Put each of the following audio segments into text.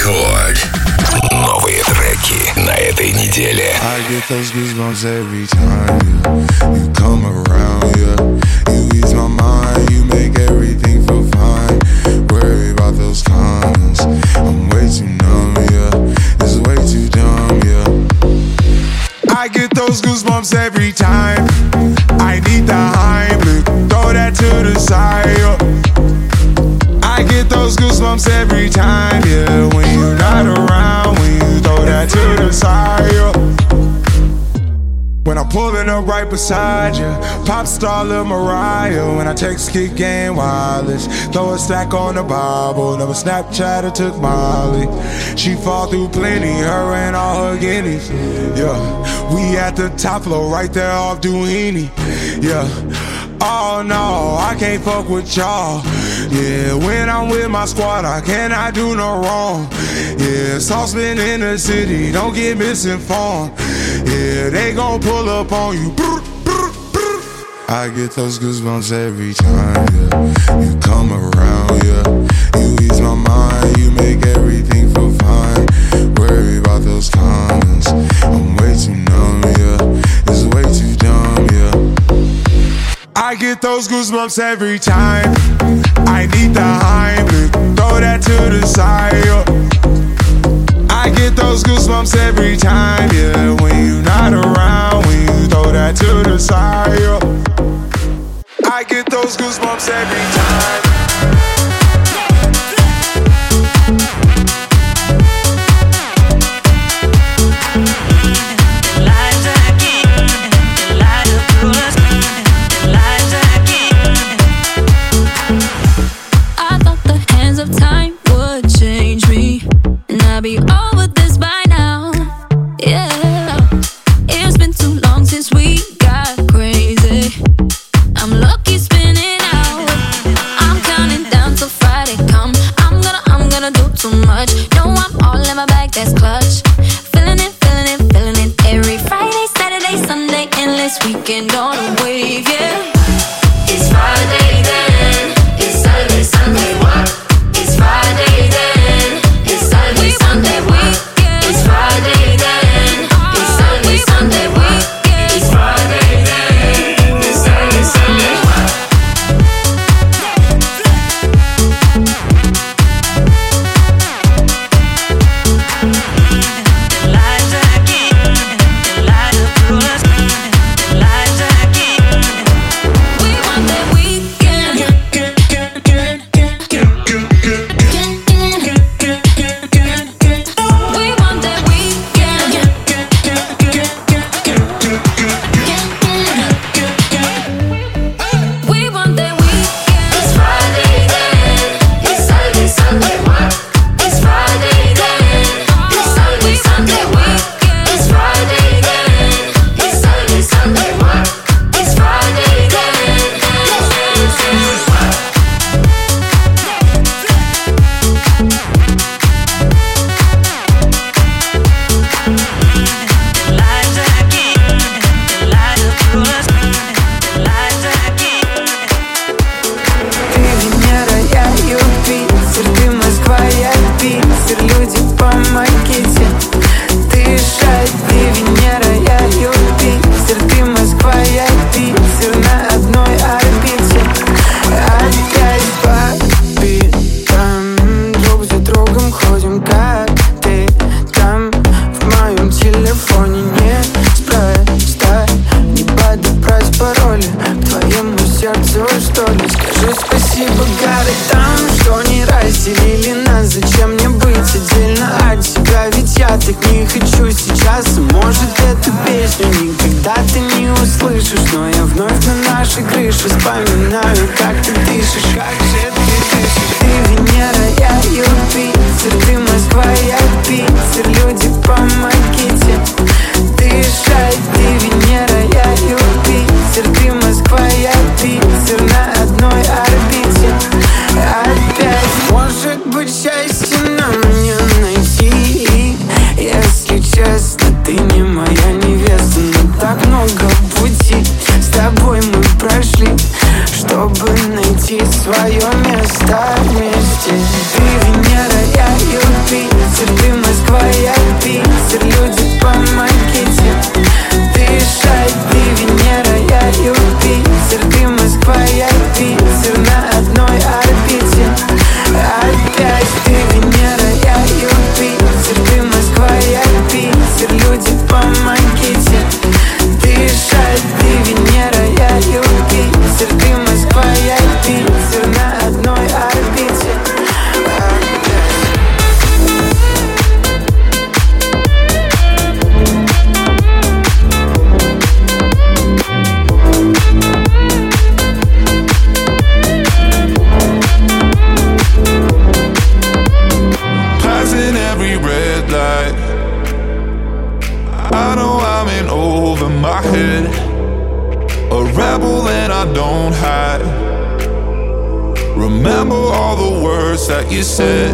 Рекорд. Новые треки на этой неделе. I get those goosebumps every time you come around, yeah. You ease my mind, you make everything feel fine. Worry about those cons, I'm way too numb, yeah. It's way too dumb, yeah. I get those goosebumps every time I need the Heimlich, throw that to the side, yeah. I get those goosebumps every time, yeah. When you're not around, when you throw that to the side, yeah. When I'm pulling up right beside you, pop star Lil Mariah. When I text Kick Game Wireless, throw a stack on the Bible. Never Snapchat or took Molly. She fall through plenty, her and all her guineas. Yeah, we at the top floor, right there off Duini. Yeah, oh no, I can't fuck with y'all. Yeah, when I'm with my squad, I cannot do no wrong. Yeah, saucepan in the city, don't get misinformed. Yeah, they gon' pull up on you. I get those goosebumps every time, yeah. You come around, yeah. You ease my mind, you make everything feel fine. Worry about those cons, I'm way too numb, yeah. It's way too dumb, yeah. I get those goosebumps every time I need the Heimlich, throw that to the side, yeah. I get those goosebumps every time, yeah. When you're not around, when you throw that to the side, yeah. I get those goosebumps every time. I thought the hands of time would change me, and I'd be over this by now. Yeah, it's been too long since we got crazy. I'm lucky spinning out. I'm counting down till Friday come. I'm gonna do too much. No, I'm all in my bag, that's clutch. Feeling it, feeling it, feeling it. Every Friday, Saturday, Sunday, endless weekend on a wave, yeah. It's Friday then. It's Saturday, Sunday, what? It's Friday then. It's Saturday, Sunday, what? It's Friday then. It's Saturday, Sunday, what? It's Friday then. It's Saturday, Sunday, what? We want that weekend. We want that weekend. We want that weekend. It's Friday then. It's Saturday, Sunday, what? It's Friday then. It's Saturday, Sunday, what? It's Friday then. It's Saturday, Sunday, what? It's Friday then. Ты Венера, я Юпитер, ты Москва, я Питер, люди, помогите дышать. Ты Венера, я Юпитер, ты Москва, я Питер, на одной орбите. Опять по битам, друг за другом ходим, как ты там. В моем телефоне неспроста не подобрать пароли к твоему сердцу, что ли. Скажи спасибо городам, что не разделили нас. Зачем мне быть отдельно от тебя? Ведь я так не хочу сейчас. Может, эту песню никогда ты не услышишь, но я вновь на нашей крыше вспоминаю, как ты дышишь. Как же ты дышишь? Ты Венера, я Юпитер, ты Москва, я Питер, люди, помогите дышать. Ты Венера, я Юпитер, ты Москва, я Питер, на одной орбите. Опять, может быть, счастье нам не найти. Если честно, ты не моя невеста, но так много пути с тобой мы прошли, чтобы найти свое место вместе. Ты Венера, я Юпитер, over my head. A rebel that I don't hide. Remember all the words that you said.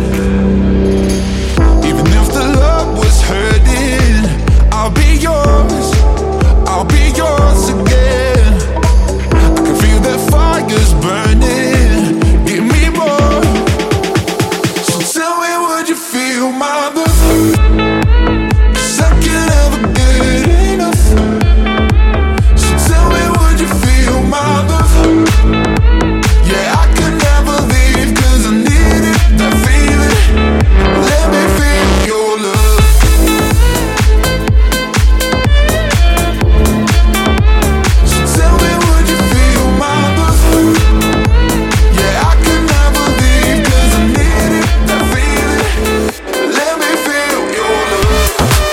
Even if the love was hurting, I'll be yours, I'll be yours again. I can feel that fire's burning, give me more. So tell me, would you feel my love? 'Cause I can never get enough. So tell me, would you feel my love? Yeah, I could never leave 'cause I need it, that feeling. Let me feel your love. So tell me, would you feel my love? Yeah, I could never leave 'cause I need it, that feeling. Let me feel your love.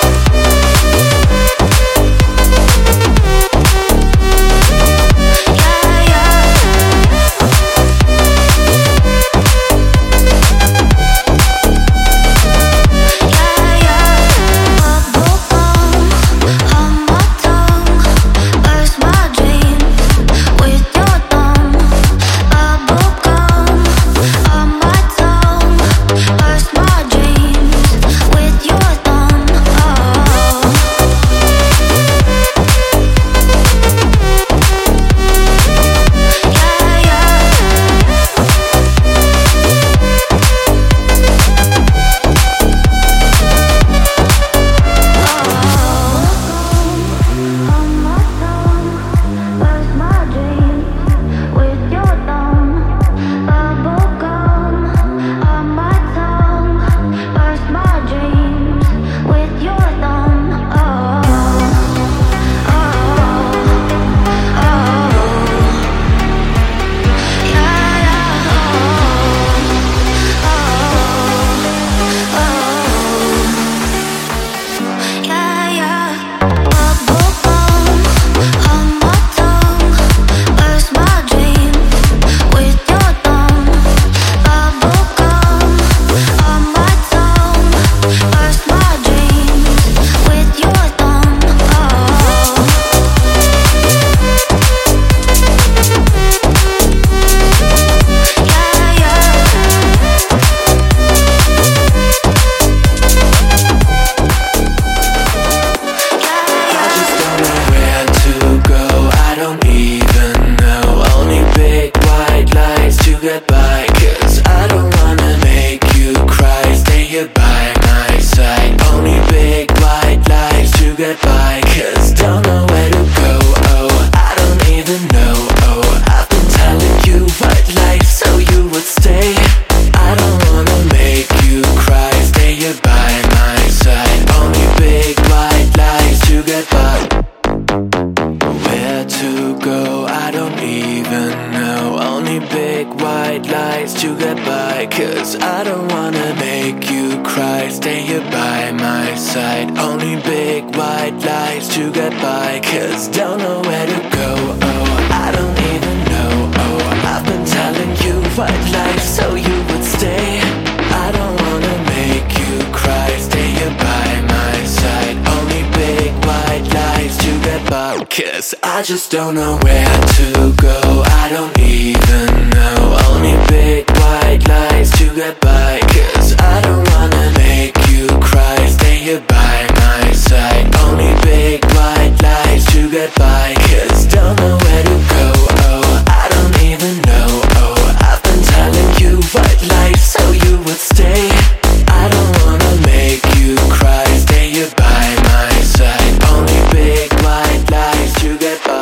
I just don't know where to go. I don't even know. Only big white lies to get by. 'Cause I don't wanna make you cry. Stay here by my side. Only big white lies to get by. 'Cause don't know where to go. Oh, I don't even know. Oh, I've been telling you white lies so you would stay. I don't wanna make you cry. Stay here by my side. Only big white lies to get by.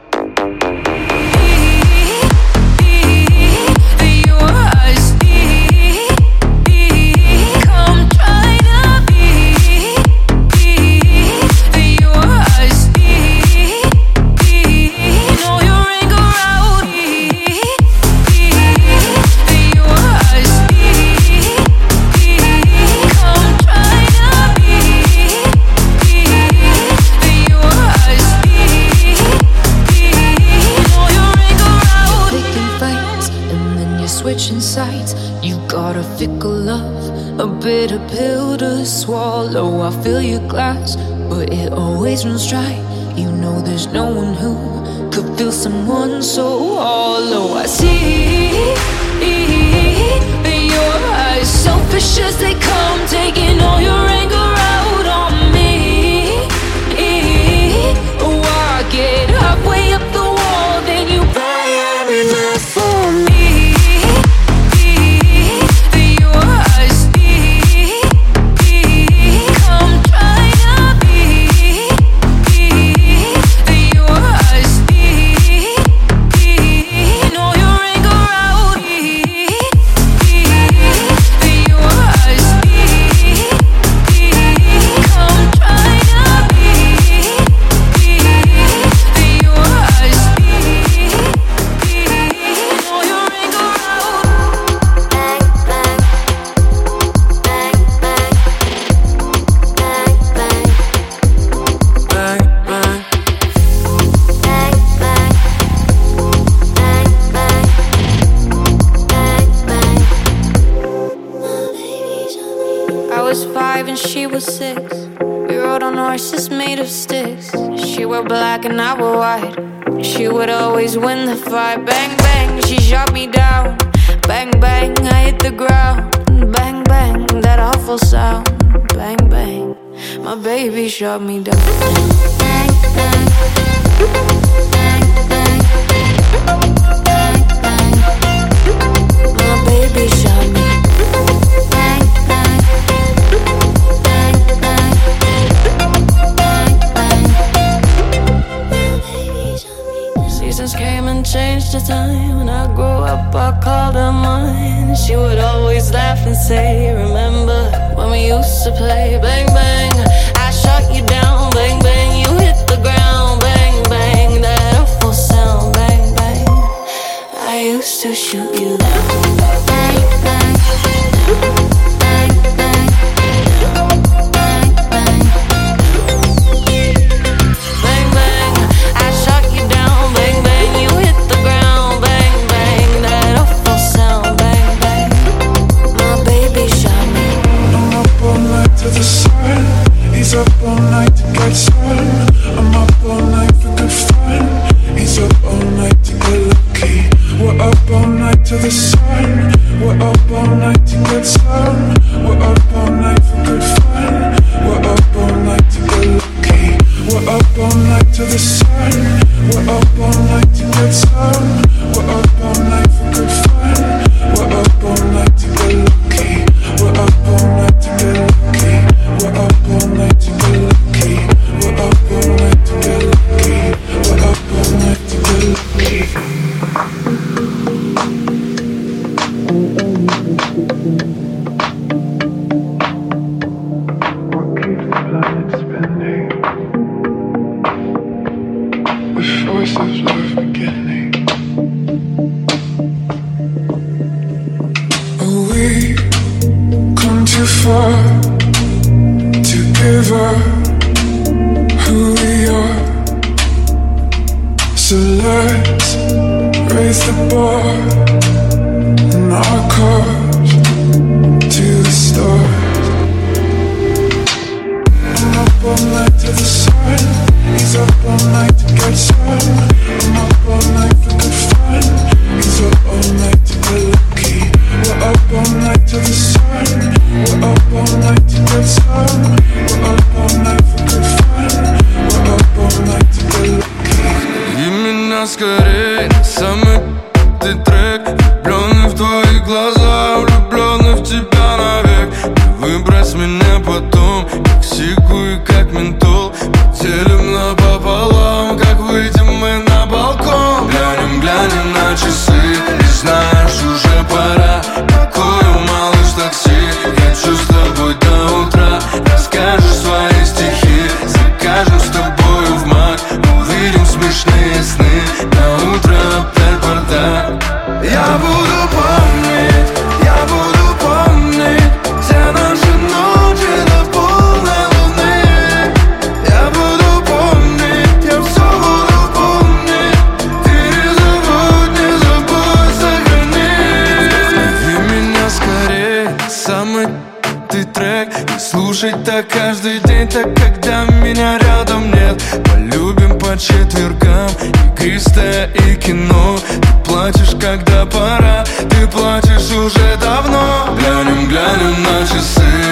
Switching sides, you got a fickle love, a bitter pill to swallow. I fill your glass, but it always runs dry. You know there's no one who could feel someone so hollow. I see in your eyes, selfish as they come, taking all your anger out on me. Oh, I get halfway up the wall, then you buy everything for me. She was 6. We rode on horses made of sticks. She wore black and I wore white. She would always win the fight. Bang, bang, she shot me down. Bang, bang, I hit the ground. Bang, bang, that awful sound. Bang, bang, my baby shot me down. Bang, bang, bang, bang, bang, bang. My baby shot me. Came and changed the time. When I grew up, I called her mine. She would always laugh and say, remember when we used to play? Bang, bang, I shot you down. Bang, bang, you hit the ground. Bang, bang, that awful sound. Bang, bang, I used to shoot you down. Bang, bang, bang, bang, bang, bang. Bang, bang, I shot you down. Bang, bang, you hit the ground. Bang, bang, that awful sound. Bang, bang, my baby shot me. I'm up all night to the sun. He's up all night to get sun. I'm up all night for good fun. He's up all night to get lucky. We're up all night to the sun. We're up all night to get sun. We're up all night for good fun. We're up all night to get lucky. We're up all night to the sun. We're up all night to get sun. We're up all night for good fun. We're up all night to get lucky. We're up all night to get lucky. We're up all night to get lucky. We're up all night to get lucky. We're up all night to get lucky. What keeps the planet spinning? The force of love beginning. We come too far to give up who we are. So let's raise the bar in our cars to the stars. I'm up all night to the sun. He's up all night to get sun. I'm up all night for good fun. He's up all night to get lucky. We're up all night to the sun. We're up all night to get sun. We're up all night for good fun. We're up all night to get lucky. И меня скорее самый трек. Влюбленный в твои глаза, влюбленный в тебя навек. Не выбрось меня потом, как сику и как ментол. Поделим напополам, как выйдем мы на балкон. Глянем, глянем на часы, и знаешь, уже пора. Какое малыш такси, хочу с тобой до утра. Расскажешь свои стихи, закажем с тобою в мак. Увидим смешные сны, на утро опять бардак. Я буду помнить, я буду помнить все наши ночи до полной луны. Я буду помнить, я все буду помнить. Ты не забудь, сохрани. Зови меня скорее, самый каждый трек и слушать так каждый день, так когда меня рядом нет. Полюбим по четвергам игристое и кино. Ты плачешь, когда пора, ты плачешь уже давно. Глянем на часы,